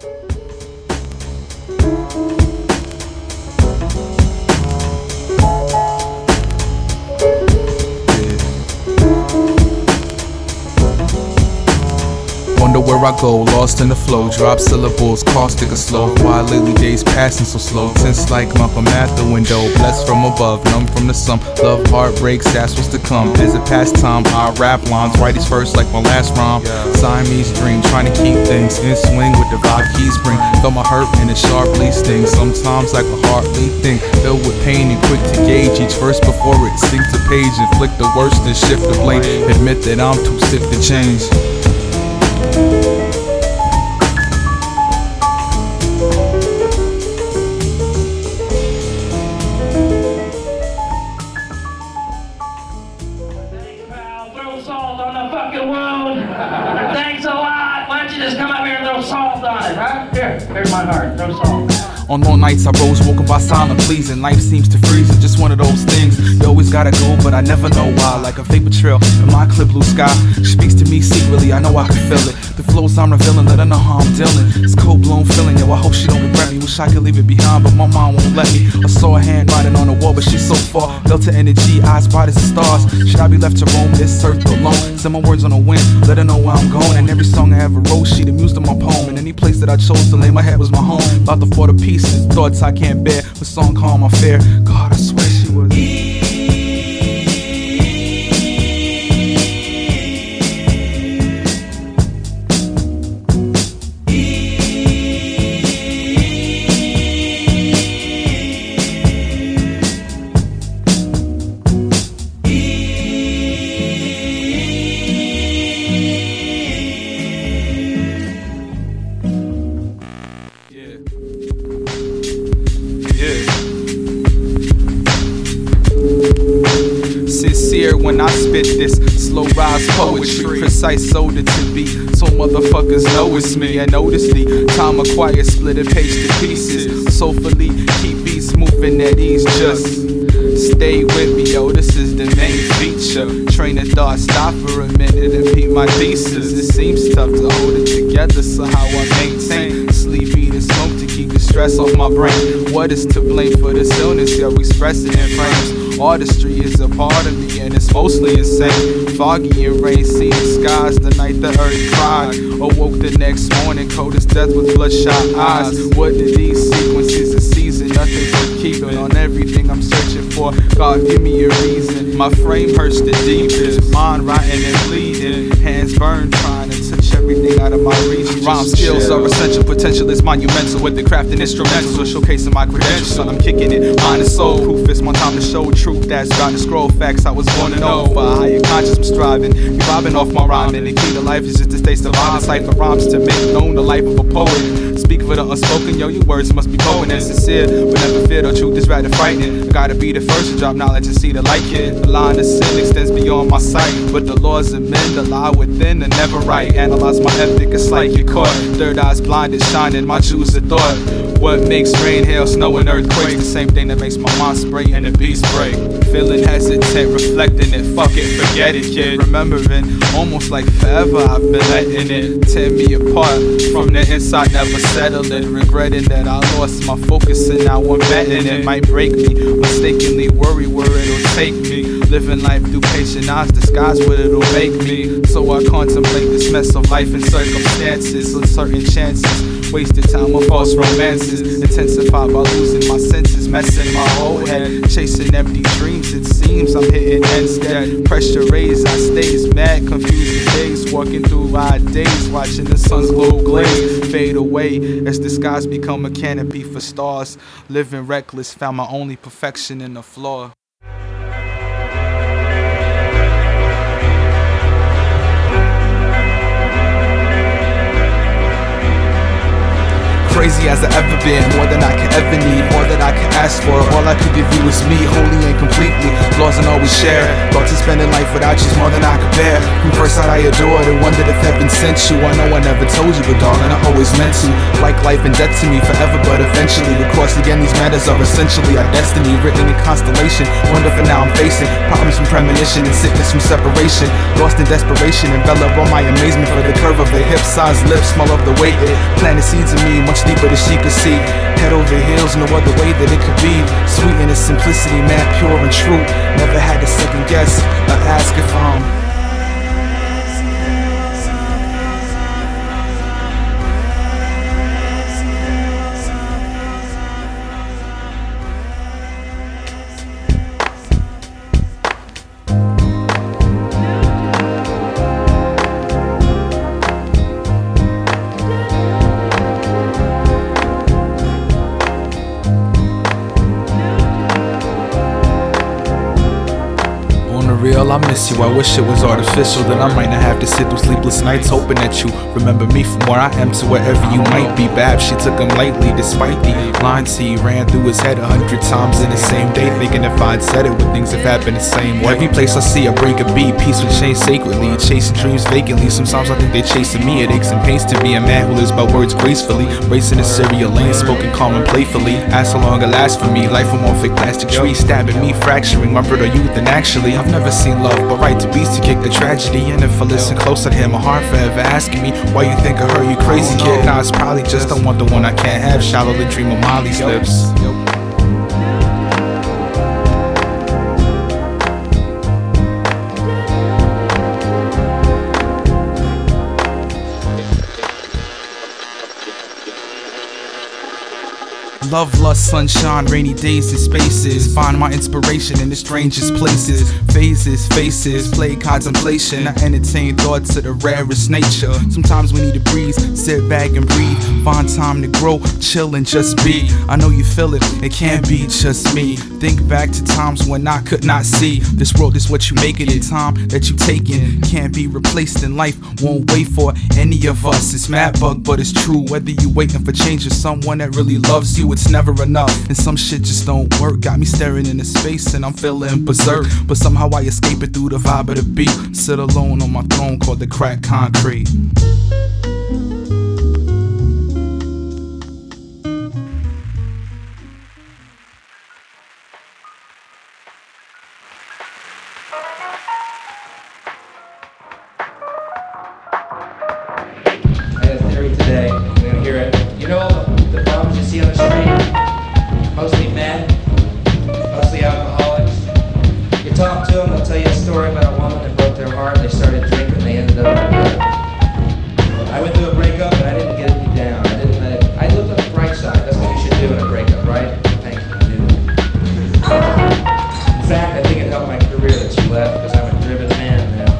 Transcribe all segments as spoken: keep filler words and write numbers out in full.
Wonder where I go, lost in the flow. Drop syllables, caustic or slow. Why lately days passing so slow? Tense like Malcolm at the window. Blessed from above, numb from the sun. Love, heartbreaks, that's what's to come. As a pastime, I rap lines. Write these first like my last rhyme. Siamese dream, trying to keep things in swing with the vibe keys bring. Feel my hurt and it sharply stings. Sometimes like a heartbeat thing, filled with pain and quick to gauge each verse before it sink to page. Inflict the worst and shift the blame. Admit that I'm too sick to change. Thanks a lot. Why don't you just come up here and throw salt on it, huh? Here, here's my heart. Throw salt. On long nights I rose, woken by silent pleasing. Life seems to freeze, it's just one of those things. You always gotta go, but I never know why. Like a vapor trail in my clear blue sky. Speaks to me secretly, I know I can feel it. The flows I'm revealing, let her know how I'm dealing. It's cold blown feeling, yo, I hope she don't regret me. Wish I could leave it behind, but my mom won't let me. I saw a hand writing on the wall, but she's so far. Delta energy, eyes bright as the stars. Should I be left to roam this earth alone? Send my words on the wind, let her know where I'm going. And every song I ever wrote, she the muse to my poem. And any place that I chose to lay my head was my home. About to fall to pieces, thoughts I can't bear. The song calm, I fear. God, I swear she was. Sincere when I spit this slow rise poetry, precise soda to be, so motherfuckers know it's me. And notice the time acquired, split a page to pieces. Soulfully keep beats moving at ease. Just stay with me, yo. This is the main feature. Train of thought, stop for a minute and beat my thesis. It seems tough to hold it together, so how I maintain sleep, eat, and smoke to keep the stress off my brain. What is to blame for this illness? Yo, express it in frames. Artistry is a part of me and it's mostly insane. Foggy and rain, see the skies the night the earth cried. Awoke the next morning, cold as death with bloodshot eyes. What did these sequences of season? Nothing but keeping on everything I'm searching for. God, give me a reason. My frame hurts the deepest, mind rotting and bleeding. Hands burned trying to touch everything out of my reach. Rhyme skills are essential, potential is monumental. With the craft and instrumentals or showcasing my credentials. Son, I'm kicking it, mind and soul. Proof it's my time to show truth that's bound to scroll. Facts I was born to know. For a higher conscious I'm striving. Be vibing off my rhyme. And the key to life is just to stay surviving. Cipher rhymes to make known the life of a poet. Speak for the unspoken, yo, your words must be potent and sincere. But never fear, the truth is rather frightening. I gotta be the first to drop knowledge and see the light, kid. The line of sin extends beyond my sight. But the laws of men that lie within are never right. Analyze my ethic, it's like you're caught. Third eye's blinded, shining, my shoes of thought. What makes rain, hail, snow, and earthquakes? The same thing that makes my mind spray and the beast break. Feeling hesitant, reflecting it, fuck it, forget it, kid. Remembering, almost like forever I've been letting it tear me apart. From the inside, never settling. Regretting that I lost my focus and now I'm betting it might break me. Mistakenly worry where it'll take me. Living life through patient eyes, disguise what it'll make me. So I contemplate this mess of life and circumstances. Uncertain chances, wasted time on false romances. Intensified by losing my senses, messing my whole head. Chasing empty dreams, it seems I'm hitting ends dead. Pressure raised, I stays mad, confusing days. Walking through odd days, watching the sun's glow glaze fade away as the skies become a canopy for stars. Living reckless, found my only perfection in the flaw. crazy as I ever been, more than I could ever need, more than I could ask for. All I could give you is me, wholly and completely, flaws and always share. Thoughts of spending life without you's more than I could bear. From first sight I adored and wondered if heaven sent you. I know I never told you, but darling, I always meant to. Like life and death to me forever, but eventually we'll cross again. These matters are essentially our destiny, written in constellation. Wonder for now I'm facing problems from premonition and sickness from separation. Lost in desperation, envelop all my amazement for the curve of the hip, size lips, smell of the weight. It planted seeds in me much deeper than she could see. Head over heels, no other way that it could be. Sweet in its simplicity, man, pure and true. Never had to second guess or ask if I'm real, I miss you. I wish it was artificial, then I might not have to sit through sleepless nights hoping that you remember me from where I am to wherever you might be. Bab, she took him lightly despite the lines he ran through his head a hundred times in the same day, thinking if I'd said it, would things have happened the same way? Every place I see I break a beat, peace would change sacredly, chasing dreams vacantly. Sometimes I think they're chasing me. It aches and pains to be a man who lives by words gracefully, racing a serial lane, spoken calm and playfully. Ask how long it lasts for me, life from one fake plastic tree, stabbing me, fracturing my brittle youth. And actually, I've never seen love, but right to beats to kick the tragedy. And if I listen close, I'd hear my heart forever asking me why you think of her, you crazy kid. Nah, it's probably just I want the one I can't have. Shallow the dream of Molly's lips. Love, lust, sunshine, rainy days and spaces. Find my inspiration in the strangest places. Phases, faces, play contemplation. I entertain thoughts of the rarest nature. Sometimes we need to breathe, sit back and breathe. Find time to grow, chill and just be. I know you feel it, it can't be just me. Think back to times when I could not see. This world is what you make it in, time that you taking can't be replaced in life, won't wait for any of us. It's mad bug, but it's true. Whether you waiting for change or someone that really loves you, it's never enough, and some shit just don't work. Got me staring into space and I'm feeling berserk, but somehow I escape it through the vibe of the beat. Sit alone on my throne called the cracked concrete. I had a theory today, you're gonna hear it. You know the bums you see on the street? Mostly men, mostly alcoholics. You talk to them, they'll tell you a story about a woman that broke their heart. They started drinking, they ended up in the I went through a breakup and I didn't get me down. I didn't let it. I looked at the bright side. That's what you should do in a breakup, right? Thank you, dude. In fact, I think it helped my career that she left because I'm a driven man now.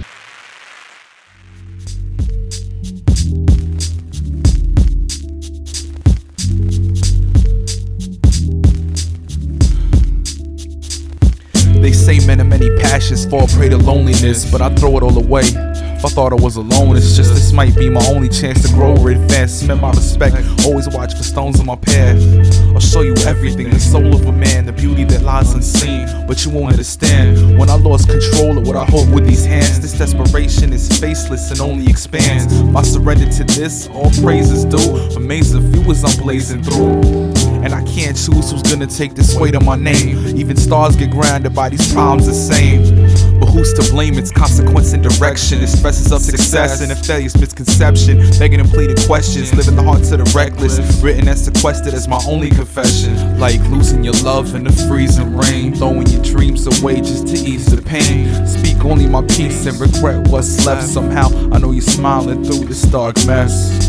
They say men of many passions fall prey to loneliness, but I throw it all away. If I thought I was alone, it's just this might be my only chance to grow or advance. Spend my respect, always watch for stones on my path. I'll show you everything, the soul of a man, the beauty that lies unseen. But you won't understand when I lost control of what I hold with these hands. This desperation is faceless and only expands. My surrender to this, all praise is due. Amazing view as I'm blazing through. And I can't choose who's gonna take this weight on my name. Even stars get grounded by these problems the same. But who's to blame? It's consequence and direction. It stresses up success and if failure's misconception. Begging and pleading questions, living the heart to the reckless. Written and sequestered as my only confession. Like losing your love in the freezing rain, throwing your dreams away just to ease the pain. Speak only my peace and regret what's left. Somehow I know you're smiling through this dark mess.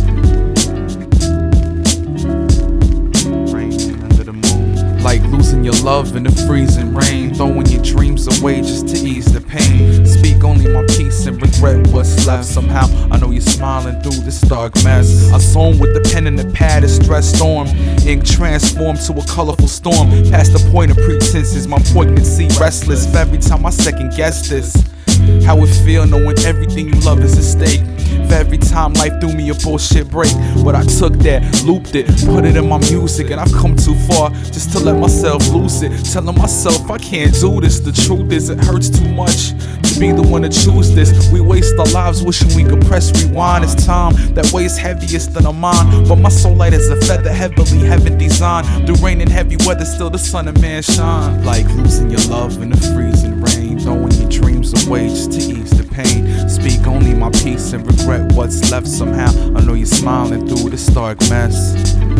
Like losing your love in the freezing rain, throwing your dreams away just to ease the pain. Speak only my peace and regret what's left. Somehow I know you're smiling through this dark mess. I zone with the pen and the pad, a stress storm. Ink transformed to a colorful storm. Past the point of pretenses, my poignancy restless. For every time I second guess this, how it feel knowing everything you love is at stake. every time life threw me a bullshit break. But I took that, looped it, put it in my music, and I've come too far just to let myself lose it. Telling myself I can't do this. The truth is it hurts too much to be the one to choose this. We waste our lives wishing we could press rewind. It's time that weighs heaviest than a mind, but my soul light is a feather heavily heaven designed. Through rain and heavy weather, still the sun of man shine. Like losing your love in the freezing rain, throwing your dreams away just to ease the pain. Speak only my peace and regret what's left. Somehow I know you're smiling through this dark mess.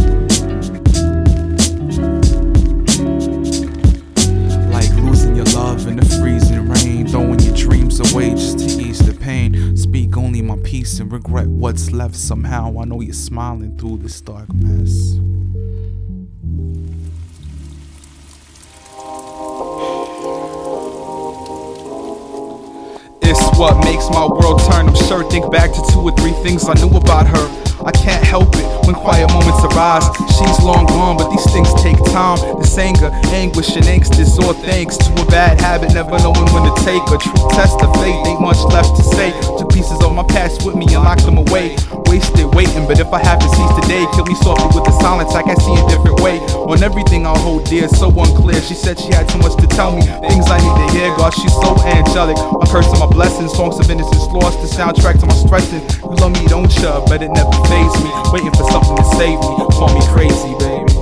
Like losing your love in the freezing rain, throwing your dreams away just to ease the pain. Speak only my peace and regret what's left. Somehow I know you're smiling through this dark mess. It's what makes my world turn. I'm sure think back to two or three things I knew about her. I can't help it when quiet moments arise. She's long gone, but these things take time. This anger, anguish, and angst is all thanks to a bad habit, never knowing when to take a true test of faith. Ain't much left to say. Took pieces of my past with me and locked them away. Wasted waiting, but if I have to cease today, kill me softly with the silence. I can see a different way on everything I hold dear. So unclear. She said she had too much to tell me, things I need to hear. God, she's so angelic. My curse and my blessings, songs of innocence lost, the soundtrack to my stressing. You love me, don't you? But it never fazed me. Waiting for something to save me. Call me crazy, baby.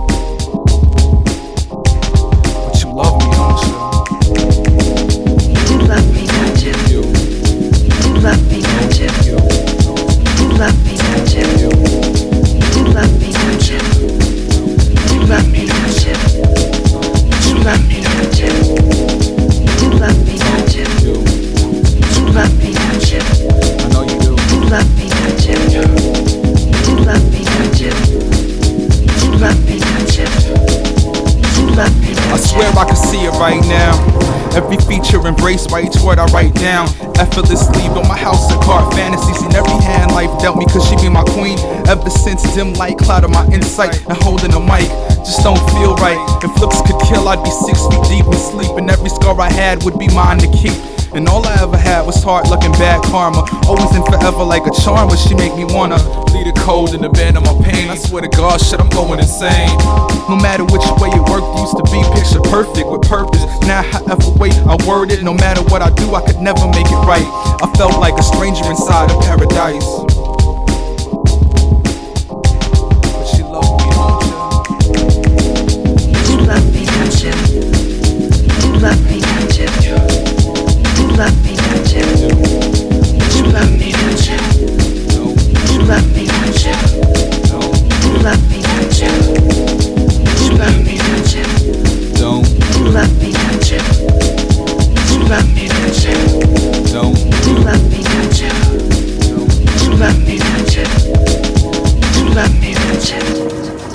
But you love me, don't you? You do love me, don't you? You do love me, don't you? You do love me, don't you? You do love me, don't you? You do love me, don't you? You do love me, don't you? You do love me, don't you? You do love me, don't you? I know you do. You do love me, don't you? You do love me, don't you? You do love me, don't you? You do love me, don't you? I swear I can see it right now. Every feature embraced by each word I write down. Effortlessly built my house and card fantasies. In every hand life dealt me, cause she be my queen. Ever since dim light clouded my insight, and holding a mic just don't feel right. If looks could kill, I'd be six feet deep in sleep, and every scar I had would be mine to keep. And all I ever had was hard luck and bad karma. Always and forever like a charm, but she make me wanna lead a cold and abandon my pain. I swear to God, shit, I'm going insane. No matter which way it worked, used to be picture perfect with purpose. Now however way I word it, no matter what I do, I could never make it right. I felt like a stranger inside of paradise. But she loved me, don't you? You love me, don't you? You love me, don't you? You love me, don't you? You love me, don't you? You love me, don't you? You love me, don't you? You love me, don't you? Don't. You love me, don't you? You love me, don't you? Don't. You love me, don't you? You love me, don't you? You love me, don't you?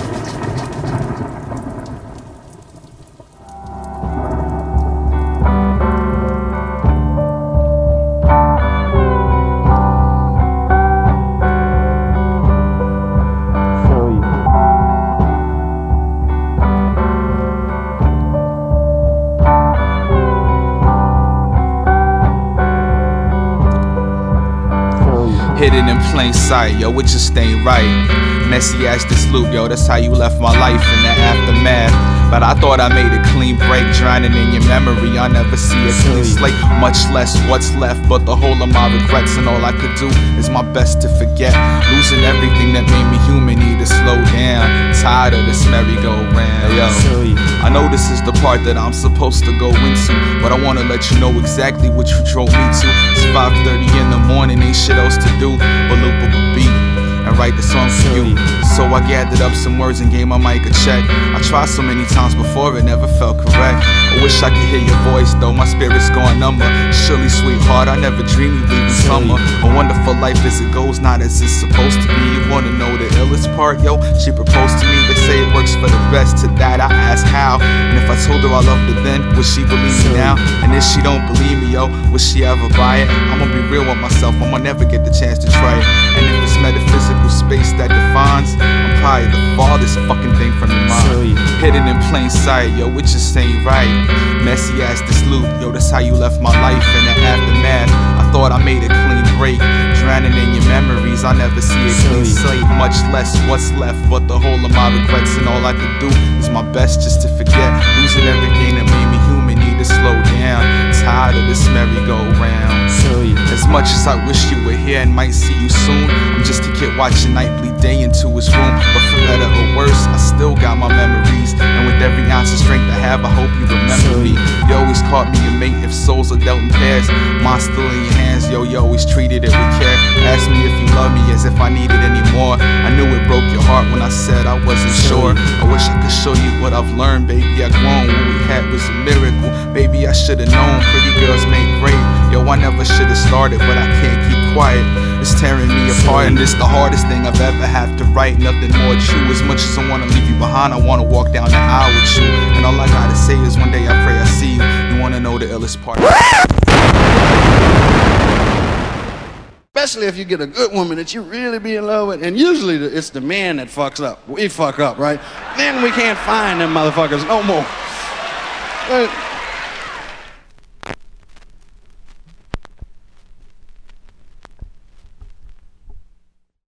Hidden in plain sight, yo, it just ain't right. Messy as this loop, yo, that's how you left my life in the aftermath. But I thought I made a clean break, drowning in your memory. I never see a clean slate, much less what's left. But the whole of my regrets, and all I could do is my best to forget. Losing everything that made me human, need to slow down. Tired of this merry-go-round, yo. I know this is the part that I'm supposed to go into, but I wanna let you know exactly what you drove me to. It's five thirty in the morning, ain't shit else to do but loop up a beat and write the song for you. So I gathered up some words and gave my mic a check. I tried so many times before, it never felt correct. I wish I could hear your voice, though my spirit's going number. Surely, sweetheart, I never dreamed you'd leave in summer. A wonderful life as it goes, not as it's supposed to be. You wanna know the illest part, yo? She proposed to me, they say it works for the best. To that I asked how, and if I told her I loved her then, would she believe me now? And if she don't believe me, yo, would she ever buy it? I'ma be real with myself, I'ma never get the chance to try it. And if it's metaphysical space that defines, I'm probably the farthest fucking thing from your mind. Hidden in plain sight, yo, it just ain't right. Messy as this loop, yo, that's how you left my life in the aftermath. I thought I made a clean break, drowning in your memory. cause I never see a clean slate, much less what's left but the whole of my regrets. And all I could do is my best just to forget, losing everything that made me human, need to slow down. Tired of this merry-go-round. As much as I wish you were here and might see you soon, I'm just a kid watching Nightly Day into his room. But for better or worse, I still got my memories, and with every ounce of strength I have, I hope you remember me. You always caught me a mate if souls are dealt in pairs. Mine still in your hands, yo, you always treated it with care. Asked me if you love me as if I needed any more. I knew it broke your heart when I said I wasn't sure. I wish I could show you what I've learned, baby. I grown, what we had was a miracle. Baby, I should've known pretty girls make great. Yo, I never should've started, but I can't keep quiet. It's tearing me apart, and it's the hardest thing I've ever had to write. Nothing more true. As much as I wanna leave you behind, I wanna walk down the aisle with you. And all I gotta say is one day I pray I see you. You wanna know the illest part? Especially if you get a good woman that you really be in love with, and usually it's the man that fucks up. We fuck up, right? Then we can't find them motherfuckers no more. But